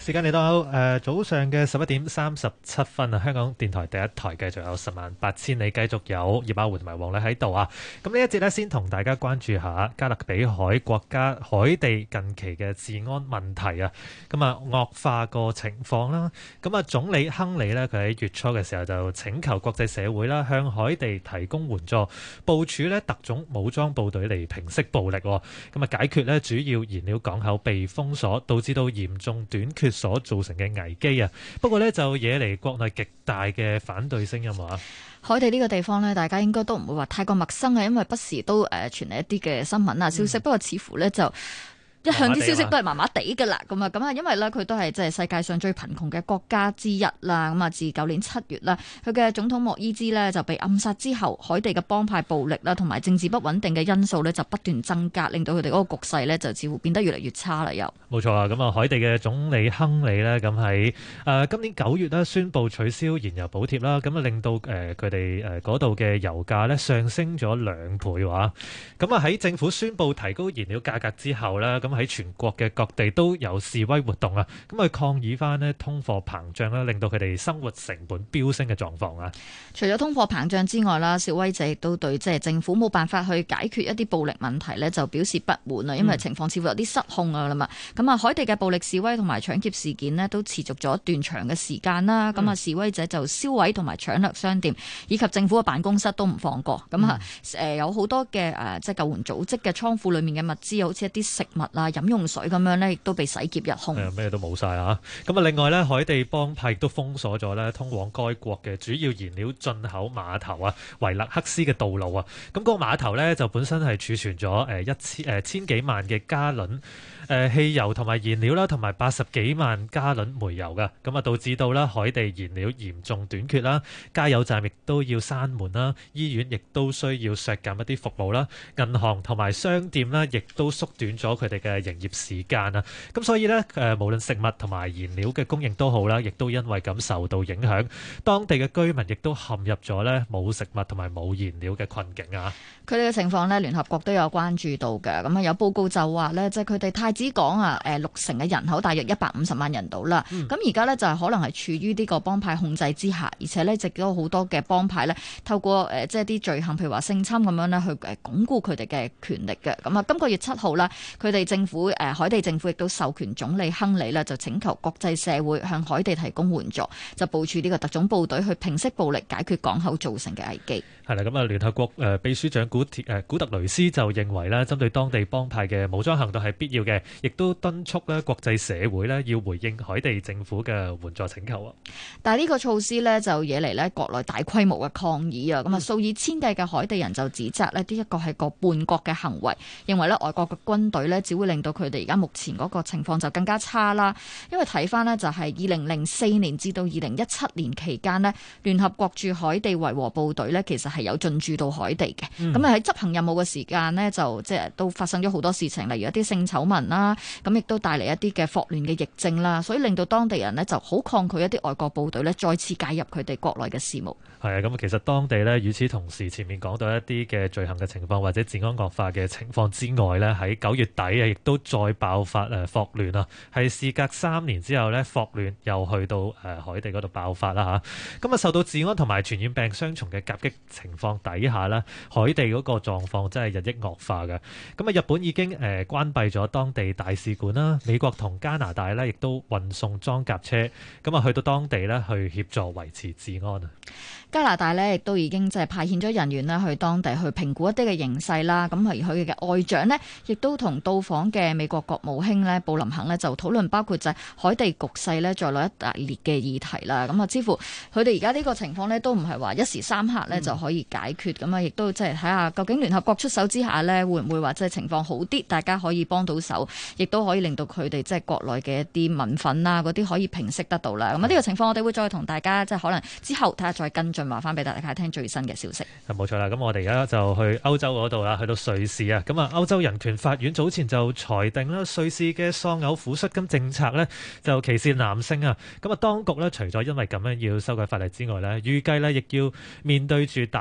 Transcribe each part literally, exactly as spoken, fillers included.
時間嚟到誒、呃、早上嘅十一點三十七分啊！香港電台第一台繼續有十萬八千里，繼續有葉亞湖同埋黃麗喺度啊！咁呢一節呢，先同大家關注下加勒比海國家海地近期嘅治安問題啊！咁啊惡化個情況啦，咁啊總理亨利呢，佢喺月初嘅時候就請求國際社會啦，向海地提供援助，部署呢特種武裝部隊嚟平息暴力，咁啊解決呢主要燃料港口被封鎖，導致到嚴重短缺所造成嘅危機啊！不過呢，就惹嚟國內極大嘅反對聲音啊！ 海地呢個地方呢，大家應該都唔會話太過陌生啊，因為不時都誒傳嚟一啲嘅新聞啊消息，嗯、不過似乎呢就。一向啲消息都係麻麻地㗎啦，咁啊咁啊，因為咧佢都係即係世界上最貧窮嘅國家之一啦。咁啊，自舊年七月啦，佢嘅總統莫伊茲呢就被暗殺之後，海地嘅幫派暴力啦同埋政治不穩定嘅因素呢就不斷增加，令到佢哋嗰個局勢呢就似乎變得越嚟越差啦。又冇錯啊！咁啊，海地嘅總理亨利呢，咁喺誒今年九月呢宣布取消燃油補貼啦，咁啊令到誒佢哋誒嗰度嘅油價呢上升咗兩倍話。咁啊喺政府宣布提高燃料價格之後呢，咁喺全國嘅各地都有示威活動啊，咁去抗議翻呢通貨膨脹啦，令到佢哋生活成本飆升嘅狀況啊。 除咗通貨膨脹之外啦，示威者亦都對即係政府冇辦法去解決一啲暴力問題呢就表示不滿啊，因為情況似乎有啲失控啊啦嘛。咁啊，海地嘅暴力示威同埋搶劫事件呢都持續咗一段長嘅時間啦。咁啊，示威者就燒毀同埋搶掠商店，以及政府嘅辦公室都唔放過。咁啊，誒有好多嘅誒即係救援組織嘅倉庫裏面嘅物資，好似一啲食物啊、飲用水咁樣咧，亦都被洗劫一空。 咩都冇晒啊！咁啊，另外咧，海地幫派亦都封鎖咗咧通往該國嘅主要燃料進口碼頭啊，維勒克斯嘅道路啊。咁、那、嗰個碼頭咧就本身係儲存咗誒一千誒千幾萬嘅加侖誒汽油同埋燃料啦，同埋八十幾萬加侖煤油噶。咁啊，導致到啦海地燃料嚴重短缺啦，加油站亦都要閂門啦，醫院亦都需要削減一啲服務啦，銀行同埋商店啦，亦都縮短咗佢哋嘅營業時間啊。咁所以呢，誒無論食物同埋燃料嘅供應都好啦，亦都因為咁受到影響。當地嘅居民亦都陷入咗呢冇食物同埋冇燃料嘅困境啊！ 佢哋嘅情況呢，聯合國都有關注到嘅。咁啊，有報告就話呢，即係佢哋太子港啊，誒六成嘅人口大約一百五十萬人到啦。咁而家呢，就係可能係處於呢個幫派控制之下，而且呢，亦都好多嘅幫派呢，透過誒即係啲罪行，譬如話性侵咁樣呢，去誒鞏固佢哋嘅權力嘅。咁啊，今個月七號啦，佢哋政府誒海地政府亦都授權總理亨利呢，就請求國際社會向海地提供援助，就部署呢個特種部隊去平息暴力，解決港口造成嘅危機。 係啦，咁啊，聯合國誒秘書長古誒古特雷斯就認為咧，針對當地幫派嘅武裝行動係必要嘅，亦都敦促咧國際社會咧要回應海地政府嘅援助請求啊。 但係呢個措施咧就惹嚟咧國內大規模嘅抗議啊！咁啊、嗯，數以千計嘅海地人就指責咧呢一個係個叛國嘅行為，認為咧外國嘅軍隊咧只會令到佢哋而家目前嗰個情況就更加差啦。因為睇翻呢，就係二零零四年至到二零一七年期間呢，聯合國駐海地維和部隊咧其實係有進駐到海地嘅。咁啊喺執行任務嘅時間呢，就即係都發生咗好多事情，例如一啲性醜聞啦，咁亦都帶嚟一啲嘅霍亂嘅疫症啦，所以令到當地人呢就好抗拒一啲外國部隊呢再次介入佢哋國內嘅事務。 係啊，咁其實當地呢，與此同時，前面講到一啲嘅罪行嘅情況或者治安惡化嘅情況之外呢，喺九月底啊，亦都再爆發誒霍亂啊，係事隔三年之後呢，霍亂又去到誒海地嗰度爆發啦嚇。咁啊，受到治安同埋傳染病雙重嘅夾擊情況底下呢，海地嗰個狀況真係日益惡化嘅。咁啊，日本已經誒關閉咗當地大使館啦，美國同加拿大呢亦都運送裝甲車，咁啊去到當地呢去協助維持治安啊。 加拿大呢亦都已經即係派遣咗人員呢去當地去評估一啲嘅形勢啦。咁而佢嘅外長呢，亦都同到訪嘅美國國務卿呢布林肯呢就討論包括就係海地局勢呢在內一大列嘅議題啦。咁啊，似乎佢哋而家呢個情況呢都唔係話一時三刻呢就可以解決。咁啊、嗯，亦都即係睇下究竟聯合國出手之下呢，會唔會話即係情況好啲，大家可以幫到手，亦都可以令到佢哋即係國內嘅一啲民憤啊嗰啲可以平息得到啦。咁啊，呢個情況我哋會再同大家即係可能之後睇下再跟進。話翻俾大家聽最新嘅消息。 冇錯啦，咁我哋而家就去歐洲嗰度啦，去到瑞士啊。咁啊，歐洲人權法院早前就裁定啦，瑞士嘅喪偶撫恤金政策呢就歧視男性啊。咁啊，當局呢除咗因為咁樣要修改法例之外呢，預計呢亦要面對住大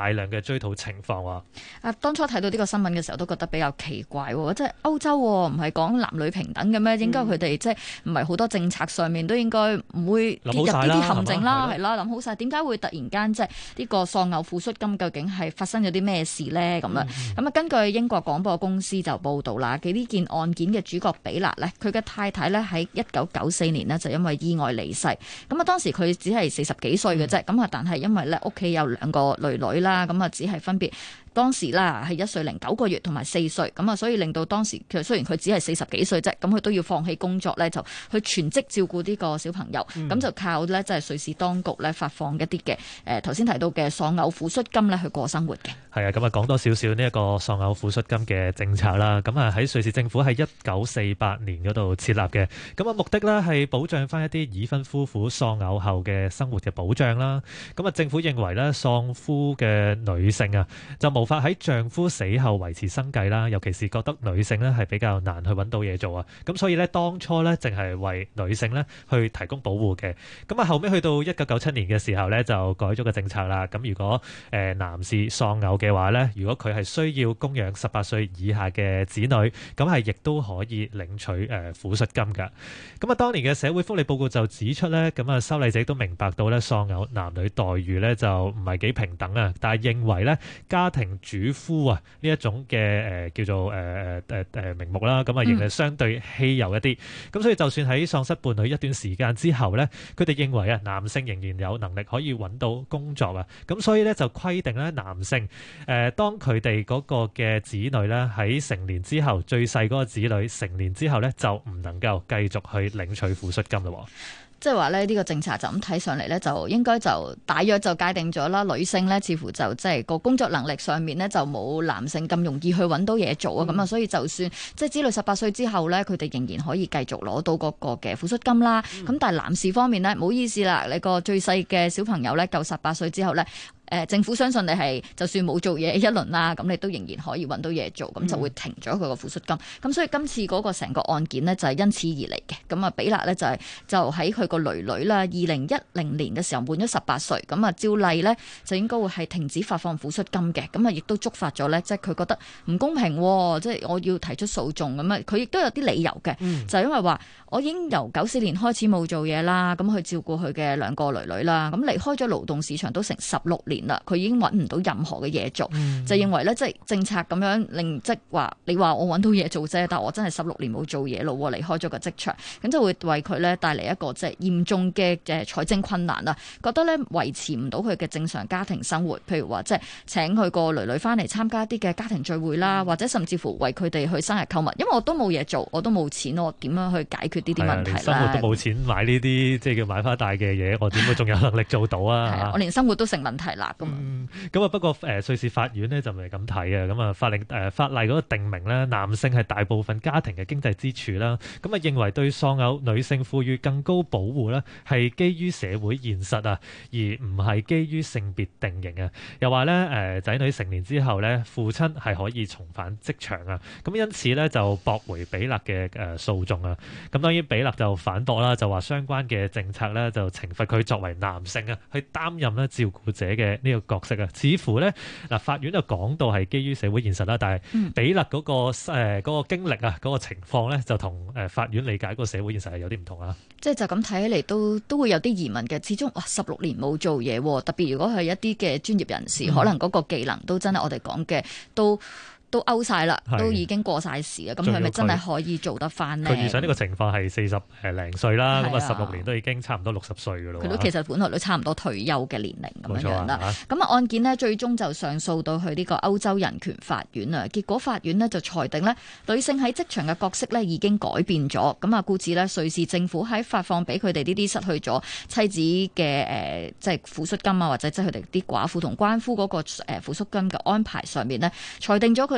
大量嘅追討情況喎。 啊，當初睇到呢個新聞嘅時候，都覺得比較奇怪喎，即係歐洲唔係講男女平等嘅咩？應該佢哋即係唔係好多政策上面都應該唔會跌入呢啲陷阱啦，係啦，諗好晒，點解會突然間即係呢個喪偶撫恤金究竟係發生咗啲咩事咧？咁樣咁啊，根據英國廣播公司就報道啦，嘅呢件案件嘅主角比勒咧，佢嘅太太咧喺一九九四年呢就因為意外離世，咁啊當時佢只係四十幾歲嘅啫，咁啊但係因為咧屋企有兩個女女啦，咁啊只係分別。當時啦係一歲零九個月同埋四歲，咁啊所以令到當時其實雖然佢只係四十幾歲啫，咁佢都要放棄工作咧，就去全職照顧呢個小朋友，咁、嗯、就靠咧即係瑞士當局咧發放一啲嘅誒頭先提到嘅喪偶撫恤金咧去過生活嘅。係啊，咁啊講多少少呢一個喪偶撫恤金嘅政策啦，咁啊喺瑞士政府喺一九四八年嗰度設立嘅，咁啊目的咧係保障翻一啲已婚夫婦喪偶後嘅生活嘅保障啦。咁啊政府認為咧喪夫嘅女性啊就冇無法喺丈夫死後維持生計啦，尤其是覺得女性咧係比較難去揾到嘢做啊，咁所以咧當初咧淨係為女性咧去提供保護嘅，咁啊後尾去到一九九七年嘅時候咧就改咗個政策啦，咁如果誒男士喪偶嘅話咧，如果佢係需要供養十八歲以下嘅子女，咁係亦都可以領取誒撫恤金噶。咁啊當年嘅社會福利報告就指出咧，咁啊修例者都明白到咧喪偶男女待遇咧就唔係幾平等啊，但係認為咧家庭主夫啊呢一種嘅誒、呃、叫做誒誒誒誒名目啦，咁啊仍係相對稀有一啲，咁、嗯、所以就算喺喪失伴侶一段時間之後咧，佢哋認為啊男性仍然有能力可以揾到工作啊，咁所以咧就規定咧男性誒、呃、當佢哋嗰個嘅子女咧喺成年之後，最細嗰個子女成年之後咧就唔能夠繼續去領取撫恤金咯。 即係話咧，呢個政策就咁睇上嚟咧，就應該就大約就界定咗啦。女性咧，似乎就即係個工作能力上面咧，就冇男性咁容易去揾到嘢做啊。咁啊、嗯，所以就算即係子女十八歲之後咧，佢哋仍然可以繼續攞到嗰個嘅撫恤金啦。咁、嗯、但係男士方面咧，唔好意思啦，你個最細嘅小朋友咧，夠十八歲之後咧。誒政府相信你係就算冇做嘢一輪啦，咁你都仍然可以揾到嘢做，咁就會停咗佢個撫恤金。咁、嗯、所以今次嗰個成個案件呢，就係因此而嚟嘅。咁啊，比勒呢，就係就喺佢個女女啦，二零一零年嘅時候滿咗十八歲，咁啊照例呢，就應該會係停止發放撫恤金嘅。咁啊亦都觸發咗呢，即係佢覺得唔公平，即係我要提出訴訟咁啊。佢亦都有啲理由嘅，嗯、就係因為話我已經由九四年開始冇做嘢啦，咁去照顧佢嘅兩個女女啦，咁離開咗勞動市場都成十六年啦，佢已經揾唔到任何嘅嘢做，嗯、就認為咧即係政策咁樣令即係話你話我揾到嘢做啫，但我真係十六年冇做嘢咯，離開咗個職場，咁就會為佢咧帶嚟一個即係嚴重嘅誒財政困難啦，覺得咧維持唔到佢嘅正常家庭生活，譬如話即係請佢個女女翻嚟參加一啲嘅家庭聚會啦，嗯、或者甚至乎為佢哋去生日購物，因為我都冇嘢做，我都冇錢，我點樣去解決呢啲問題咧？生活都冇錢買呢啲即係叫買花大嘅嘢，我點會仲有能力做到啊？ 我連生活都成問題啦咁。 咁啊、嗯，不過誒、呃、瑞士法院呢就唔係咁睇啊。咁啊法令誒、呃、法例嗰個定明咧，男性係大部分家庭嘅經濟支柱啦。咁啊認為對喪偶女性賦予更高保護咧，係基於社會現實啊，而唔係基於性別定型啊。又話咧誒仔女成年之後咧，父親係可以重返職場啊。咁因此咧就駁回比勒嘅誒訴訟啊。咁當然比勒就反駁啦，就話相關嘅政策咧就懲罰佢作為男性啊，去擔任咧照顧者嘅呢個角色啊。似乎咧嗱，法院就講到係基於社會現實啦，但係比勒嗰個誒嗰個經歷啊，嗰個情況咧就同誒法院理解嗰個社會現實係有啲唔同啊。 即係就咁睇起嚟都都會有啲疑問嘅。始終哇，十六年冇做嘢，特別如果係一啲嘅專業人士，嗯、可能嗰個技能都真係我哋講嘅都。都勾晒啦，都已經過晒時啦，咁佢咪真係可以做得翻呢？佢遇上呢個情況係四十誒零歲啦，咁啊十六年都已經差唔多六十歲噶咯。 佢都其實本來都差唔多退休嘅年齡咁樣樣啦。咁啊案件呢，最終就上訴到去呢個歐洲人權法院啊，結果法院呢就裁定呢，女性喺職場嘅角色呢已經改變咗。咁啊，故此呢，瑞士政府喺發放俾佢哋呢啲失去咗妻子嘅誒，即係撫恤金啊，或者即係佢哋啲寡婦同鰥夫嗰個誒撫恤金嘅安排上面呢，裁定咗佢哋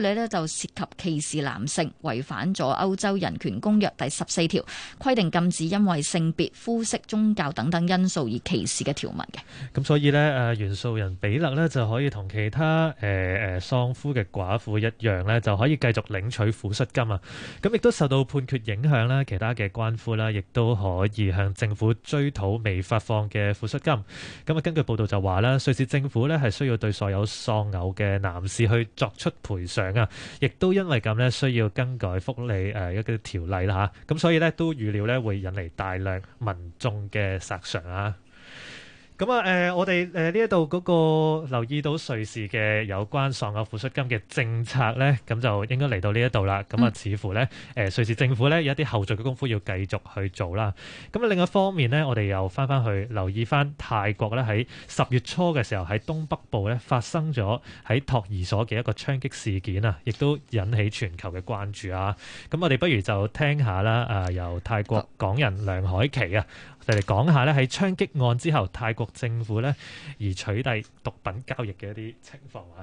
理呢就涉及歧視男性，違反咗歐洲人權公約第十四條，規定禁止因為性別、膚色、宗教等等因素而歧視嘅條文嘅。 咁所以呢，誒原訴人比勒呢就可以同其他誒誒喪夫嘅寡婦一樣呢，就可以繼續領取撫恤金啊。咁亦都受到判決影響啦，其他嘅鰥夫啦，亦都可以向政府追討未發放嘅撫恤金。咁啊，根據報道就話啦，瑞士政府呢係需要對所有喪偶嘅男士去作出賠償啊，亦都因為咁呢，需要更改福利誒一啲條例啦嚇。咁所以呢，都預料呢會引嚟大量民眾嘅索償啊。咁啊，誒，我哋誒呢一度嗰個留意到瑞士嘅有關喪偶撫恤金嘅政策咧，咁就應該嚟到呢一度啦。咁啊，似乎咧，誒瑞士政府咧有一啲後續嘅功夫要繼續去做啦。咁啊，另一方面咧，我哋又翻翻去留意翻泰國咧喺十月初嘅時候喺東北部咧發生咗喺托兒所嘅一個槍擊事件啊，亦都引起全球嘅關注啊。咁我哋不如就聽下啦，啊由泰國港人梁凱琪啊，我哋講下咧喺槍擊案之後泰國政府咧而取締毒品交易嘅一啲情況啊。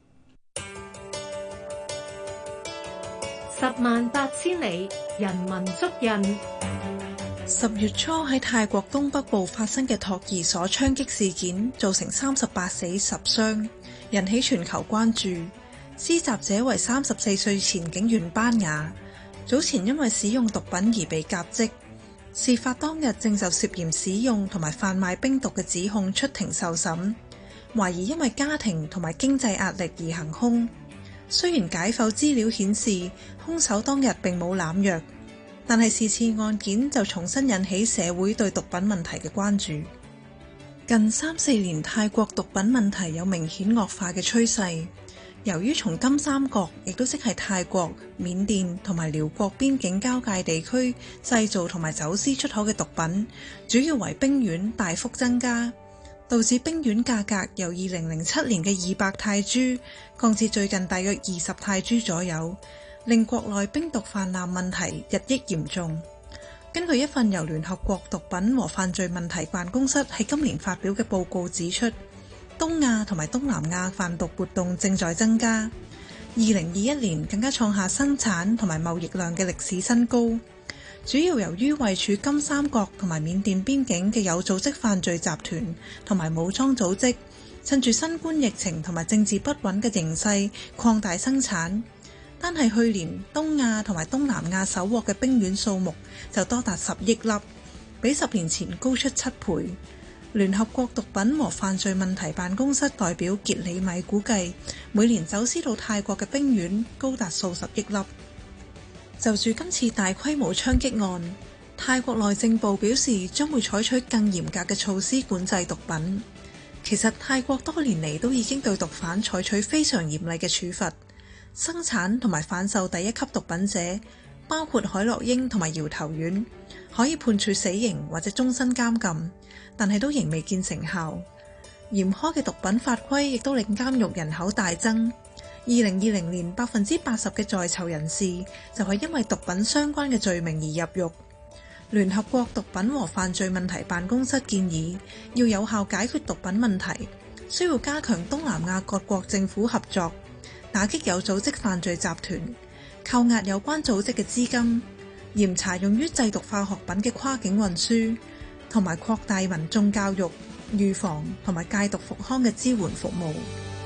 十萬八千里，人文足印。 十月初喺泰國東北部發生嘅托兒所槍擊事件，造成三十八死十傷，引起全球關注。施襲者為三十四歲前警員班雅，早前因為使用毒品而被革職。事發當日正就涉嫌使用同埋販賣冰毒嘅指控出庭受審，懷疑因為家庭同埋經濟壓力而行兇。雖然解剖資料顯示兇手當日並冇濫藥，但係是次案件就重新引起社會對毒品問題嘅關注。近三四年泰國毒品問題有明顯惡化嘅趨勢。由於從金三角，亦都即係泰國、緬甸同埋寮國邊境交界地區製造同埋走私出口嘅毒品，主要為冰丸大幅增加，導致冰丸價格由二零零七年嘅二百泰銖降至最近大約二十泰銖左右，令國內冰毒泛濫問題日益嚴重。根據一份由聯合國毒品和犯罪問題辦公室喺今年發表嘅報告指出，東亞同埋東南亞販毒活動正在增加，二零二一年更加創下生產同埋貿易量嘅歷史新高，主要由於位處金三角同埋緬甸邊境嘅有組織犯罪集團同埋武裝組織，趁住新冠疫情同埋政治不穩嘅形勢擴大生產。單係去年東亞同埋東南亞搜獲嘅冰丸數目就多達十億粒，比十年前高出七倍。聯合國毒品和犯罪問題辦公室代表傑里米估計，每年走私到泰國嘅冰丸高達數十億粒。就住今次大規模槍擊案，泰國內政部表示將會採取更嚴格嘅措施管制毒品。其實泰國多年嚟都已經對毒販採取非常嚴厲嘅處罰，生產同埋販售第一級毒品者，包括海洛英同埋搖頭丸，可以判處死刑或者終身監禁，但係都仍未見成效。嚴苛嘅毒品法規亦都令監獄人口大增。二零二零年百分之八十嘅在囚人士就係因為毒品相關嘅罪名而入獄。聯合國毒品和犯罪問題辦公室建議，要有效解決毒品問題，需要加強東南亞各國政府合作，打擊有組織犯罪集團，扣押有關組織嘅資金，嚴查用於製毒化學品嘅跨境運輸，同埋擴大民眾教育、預防同埋戒毒復康嘅支援服務。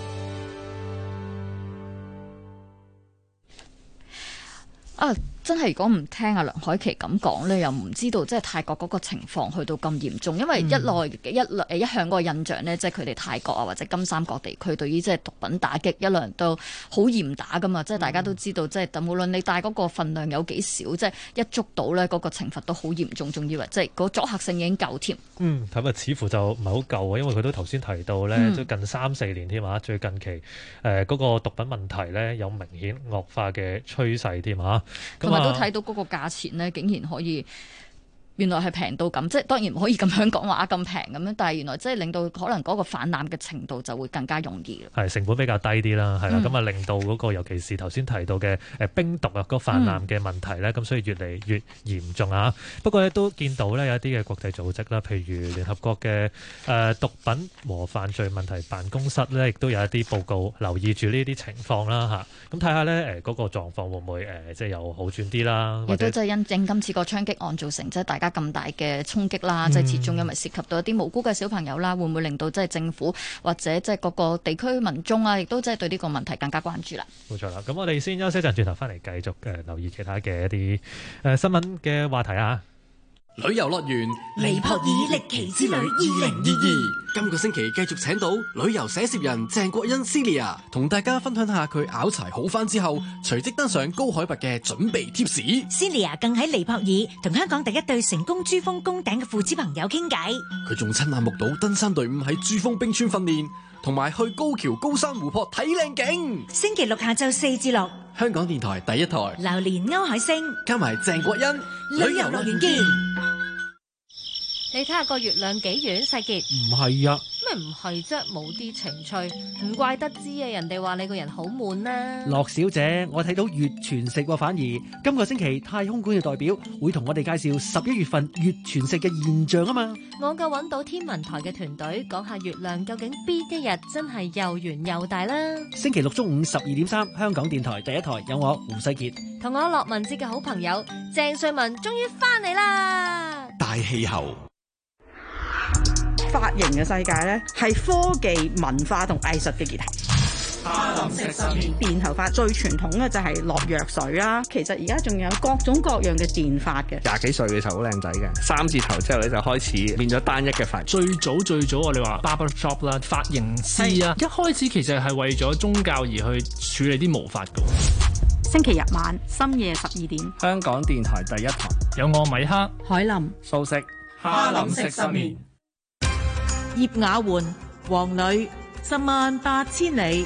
啊！真係如果唔聽阿梁凱琪咁講咧，又唔知道即係泰國嗰個情況去到咁嚴重，因為一來、嗯、一誒一向嗰個印象咧，即係佢哋泰國啊或者金三角地區對於即係毒品打擊一向都好嚴打噶嘛，即係大家都知道，即係無論你帶嗰個份量有幾少，即係一捉到咧嗰個懲罰都好嚴重，仲以為即係嗰阻嚇性已經夠添。嗯， 咁啊，似乎就唔係好夠啊，因為佢都頭先提到咧，都、嗯、近三四年添啊，最近期誒嗰、呃嗰個毒品問題咧有明顯惡化嘅趨勢添啊。同埋都睇到嗰個價錢咧，竟然可以原來係平到咁，即係當然唔可以咁樣講話咁平咁樣，但係原來即係令到可能嗰個泛濫嘅程度就會更加容易。 係成本比較低啲啦，係啦，咁啊、 嗯、 令到嗰個尤其是頭先提到嘅誒冰毒啊個泛濫嘅問題咧，咁、嗯、所以越嚟越嚴重啊。不過咧都見到咧有一啲嘅國際組織啦，譬如聯合國嘅誒、呃、毒品和犯罪問題辦公室咧，亦都有一啲報告留意住呢啲情況啦嚇。咁睇下咧誒嗰個狀況會唔會誒、呃、即係有好轉啲啦？ 亦都即係因應今次個槍擊案造成即係大家咁大嘅衝擊啦，即係始終因為涉及到一啲無辜嘅小朋友啦，會唔會令到即係政府或者即係各個地區民眾啊，亦都即係對呢個問題更加關注啦。 冇錯啦，咁我哋先休息一陣，轉頭翻嚟繼續誒留意其他嘅一啲誒新聞嘅話題啊。 旅遊樂園尼泊爾歷奇之旅二零二二， 今個星期繼續請到旅遊寫攝人鄭國恩 Celia， 同大家分享下佢拗柴好返之後，隨即登上高海拔嘅準備貼士。 Celia 更喺尼泊爾同香港第一對成功珠峰攻頂嘅父子朋友傾偈， 佢仲親眼目睹登山隊伍喺珠峰冰川訓練，同埋去高橋高山湖泊睇靚景。 星期六下晝四至六， 香港電台第一台， 榴蓮歐海星加埋鄭國恩， 旅遊樂園見。 你睇下個月亮幾圓，世傑？ 唔係啊， 咩唔係啫？冇啲情趣，唔怪得知啊！人哋話你個人好悶啦。 樂小姐，我睇到月全食喎，反而今個星期太空館嘅代表會同我哋介紹十一月份月全食嘅現象啊嘛。 我夠揾到天文台嘅團隊講下月亮究竟邊一日真係又圓又大啦。 星期六中午十二點三，香港電台第一台有我胡世傑同我樂文節嘅好朋友鄭瑞文終於翻嚟啦。 大氣候。 髮型嘅世界咧，係科技、文化同藝術嘅結合。 哈林食失眠電頭髮最傳統嘅就係落藥水啦，其實而家仲有各種各樣嘅電髮嘅。 廿幾歲嘅時候好靚仔嘅，三字頭之後咧就開始變咗單一嘅髮。 最早最早我哋話 barber shop 啦，髮型師啊，一開始其實係為咗宗教而去處理啲毛髮嘅。 星期日晚深夜十二點， 香港電台第一台有我米克、 海林、 素食、 哈林食失眠。 葉雅媛、黃磊，十萬八千里。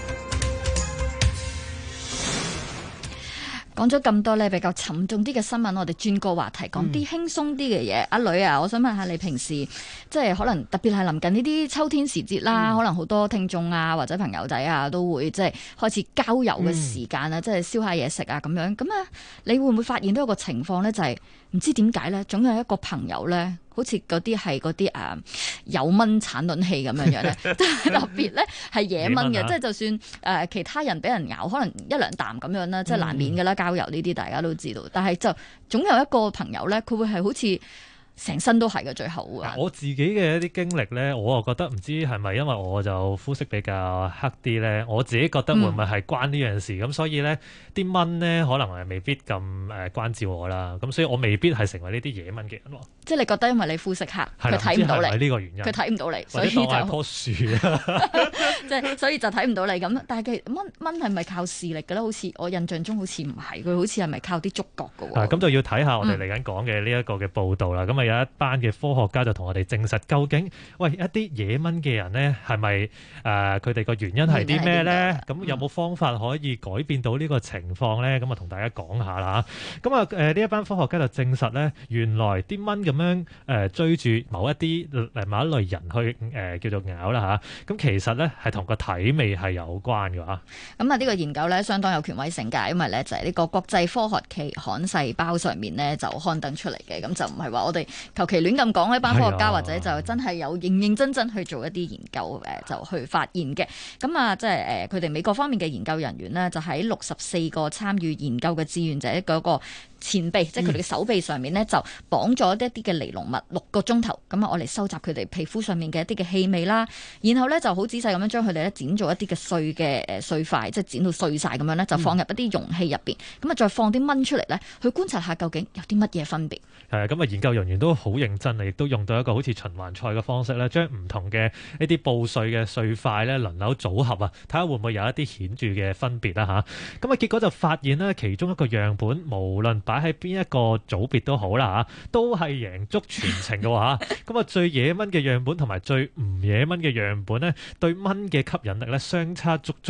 講咗咁多咧比較沉重啲嘅新聞，我哋轉個話題，講啲輕鬆啲嘅嘢。阿女啊，我想問下你平時即係可能特別係臨近呢啲秋天時節啦，嗯、可能好多聽眾啊或者朋友仔啊都會即係開始郊遊嘅時間啊，嗯、即係燒下嘢食啊咁樣。咁啊，你會唔會發現到一個情況咧？就係、是、唔知點解咧，總有一個朋友咧。好似嗰啲係嗰啲誒有蚊產卵器咁樣樣咧，特別咧係野蚊嘅，即係就算誒、呃、其他人俾人咬，可能一兩啖咁樣啦，即係難免㗎啦。郊遊呢啲大家都知道，但係就總有一個朋友咧，佢會係好似成身都係嘅最後啊！ 我自己嘅一啲經歷咧，我啊覺得唔知係咪因為我就膚色比較黑啲咧，我自己覺得會唔會係關呢樣事咁，嗯、所以咧啲蚊咧可能係未必咁誒關照我啦，咁所以我未必係成為呢啲野蚊嘅人喎。即係你覺得因為你膚色黑，佢睇唔到你，係呢個原因，佢睇唔到你，所以就當係棵樹啊！ 即係所以就睇唔到你咁。但係佢蚊蚊係咪靠視力嘅咧？好似我印象中好似唔係，佢好似係咪靠啲觸覺嘅喎？咁就要睇下我哋嚟緊講嘅呢一個嘅報導啦。咁啊、嗯、有一班嘅科學家就同我哋證實，究竟喂一啲野蚊嘅人咧係咪誒佢哋個原因係啲咩咧？咁有冇方法可以改變到呢個情況咧？咁啊同大家講下啦。咁啊誒呢一班科學家就證實咧，原來啲蚊咁樣誒、呃、追住某一啲誒某一類人去誒、呃、叫做咬啦嚇。咁、啊、其實咧係同個體味係有關嘅嚇。咁啊呢個研究咧相當有權威性㗎，因為咧就係、是、呢個國際科學期刊細胞上面咧就刊登出嚟嘅，咁就唔係話我哋求其亂咁講，一班科學家或者就真係有認認真真去做一啲研究誒，就去發現嘅。咁啊，即係誒佢哋美國方面嘅研究人員呢，就喺六十四個參與研究嘅志願者嗰個前臂，即係佢哋嘅手臂上面呢，就綁咗一啲嘅尼龍物六個鐘頭。咁啊，我嚟收集佢哋皮膚上面嘅一啲嘅氣味啦，然後咧就好仔細咁樣將佢哋咧剪做一啲嘅碎嘅誒碎塊，即係剪到碎晒咁樣咧，就放入一啲容器入邊。咁啊，再放啲蚊出嚟咧，去觀察下究竟有啲乜嘢分別。係啊，咁啊，研究人員都好認真啊，亦都用到一個好似循環賽嘅方式咧，將唔同嘅呢啲布碎嘅碎塊咧輪流組合啊，睇下會唔會有一啲顯著嘅分別啦嚇。咁啊，結果就發現咧，其中一個樣本無論擺喺邊一個組別都好啦嚇，都係贏足全程嘅喎嚇。咁啊，最野蚊嘅樣本同埋最唔野蚊嘅樣本咧，對蚊嘅吸引力咧相差足足一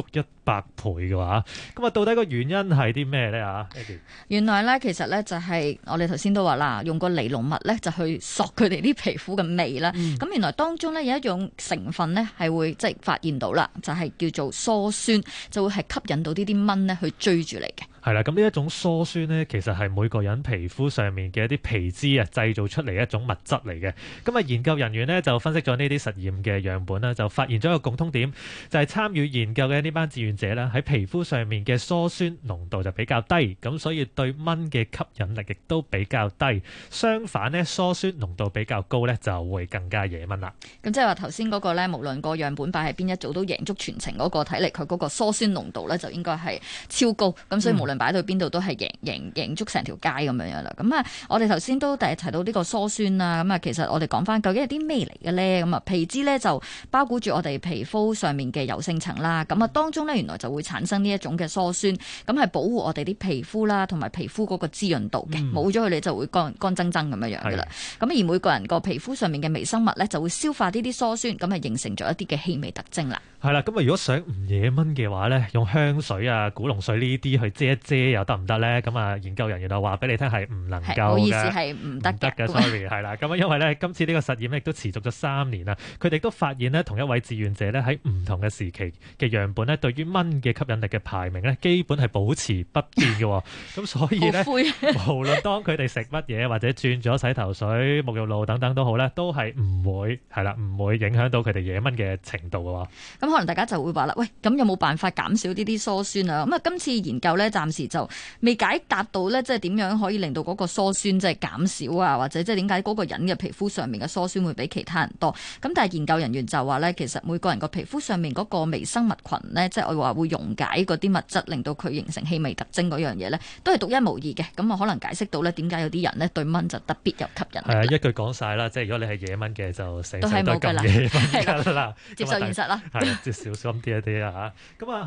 百倍嘅話，咁啊到底個原因係啲咩咧啊？ 原來咧其實咧就係我哋頭先都話啦，用個尼龍物咧就去索佢哋啲皮膚嘅味啦。咁、嗯、原來當中咧有一種成分咧係會即係發現到啦，就係、是、叫做疏酸，就會係吸引到呢啲蚊咧去追住嚟嘅。 係啦，咁呢一種疏酸呢，其實係每個人皮膚上面嘅一啲皮脂啊製造出嚟一種物質嚟嘅。咁啊，研究人員呢，就分析咗呢啲實驗嘅樣本啦，就發現咗一個共通點，就係、是、參與研究嘅呢班志願者咧喺皮膚上面嘅疏酸濃度就比較低，咁所以對蚊嘅吸引力亦都比較低。相反呢，疏酸濃度比較高呢，就會更加惹蚊啦。 咁即係話頭先嗰個呢，無論個樣本擺喺邊一組都贏足全程嗰個，睇嚟佢嗰個疏酸濃度呢，就應該係超高。咁所以無論擺到邊度都係贏贏贏足成條街咁樣樣啦。咁啊，我哋頭先都第一提到呢個疏酸啦。咁啊，其實我哋講翻究竟係啲咩嚟嘅咧？咁啊，皮脂咧就包裹住我哋皮膚上面嘅油性層啦。咁啊，當中咧原來就會產生呢一種嘅疏酸，咁係保護我哋啲皮膚啦，同埋皮膚嗰個滋潤度嘅。冇咗佢哋就會乾乾爭爭咁樣樣噶啦。咁而每個人個皮膚上面嘅微生物咧就會消化呢啲疏酸，咁啊形成咗一啲嘅氣味特徵啦。 係啦，咁啊如果想唔惹蚊嘅話咧，用香水啊、古龍水呢啲去遮一遮又得唔得咧？咁啊，研究人員就話俾你聽係唔能夠嘅，唔好意思係唔得嘅。 sorry 係啦，咁啊因為咧今次呢個實驗咧亦都持續咗三年啦，佢哋都發現咧同一位志願者咧喺唔同嘅時期嘅樣本咧對於蚊嘅吸引力嘅排名咧基本係保持不變嘅，咁所以咧無論當佢哋食乜嘢或者轉咗洗頭水、沐浴露等等都好咧，都係唔會係啦，唔會影響到佢哋惹蚊嘅程度嘅喎。 咁可能大家就會話啦，喂，咁有冇辦法減少呢啲疏酸啊？咁啊，今次研究咧暫時就未解答到咧，即係點樣可以令到嗰個疏酸即係減少啊？或者即係點解嗰個人嘅皮膚上面嘅疏酸會比其他人多？咁但係研究人員就話咧，其實每個人個皮膚上面嗰個微生物群咧，即係我話會溶解嗰啲物質，令到佢形成氣味特徵嗰樣嘢咧，都係獨一無二嘅。咁啊，可能解釋到咧點解有啲人咧對蚊就特別有吸引力。 係啊，一句講晒啦，即係如果你係惹蚊嘅，就成世都係冇㗎啦， 惹蚊㗎啦， 接受現實啦。 係，即係小心啲一啲啊嚇。咁啊。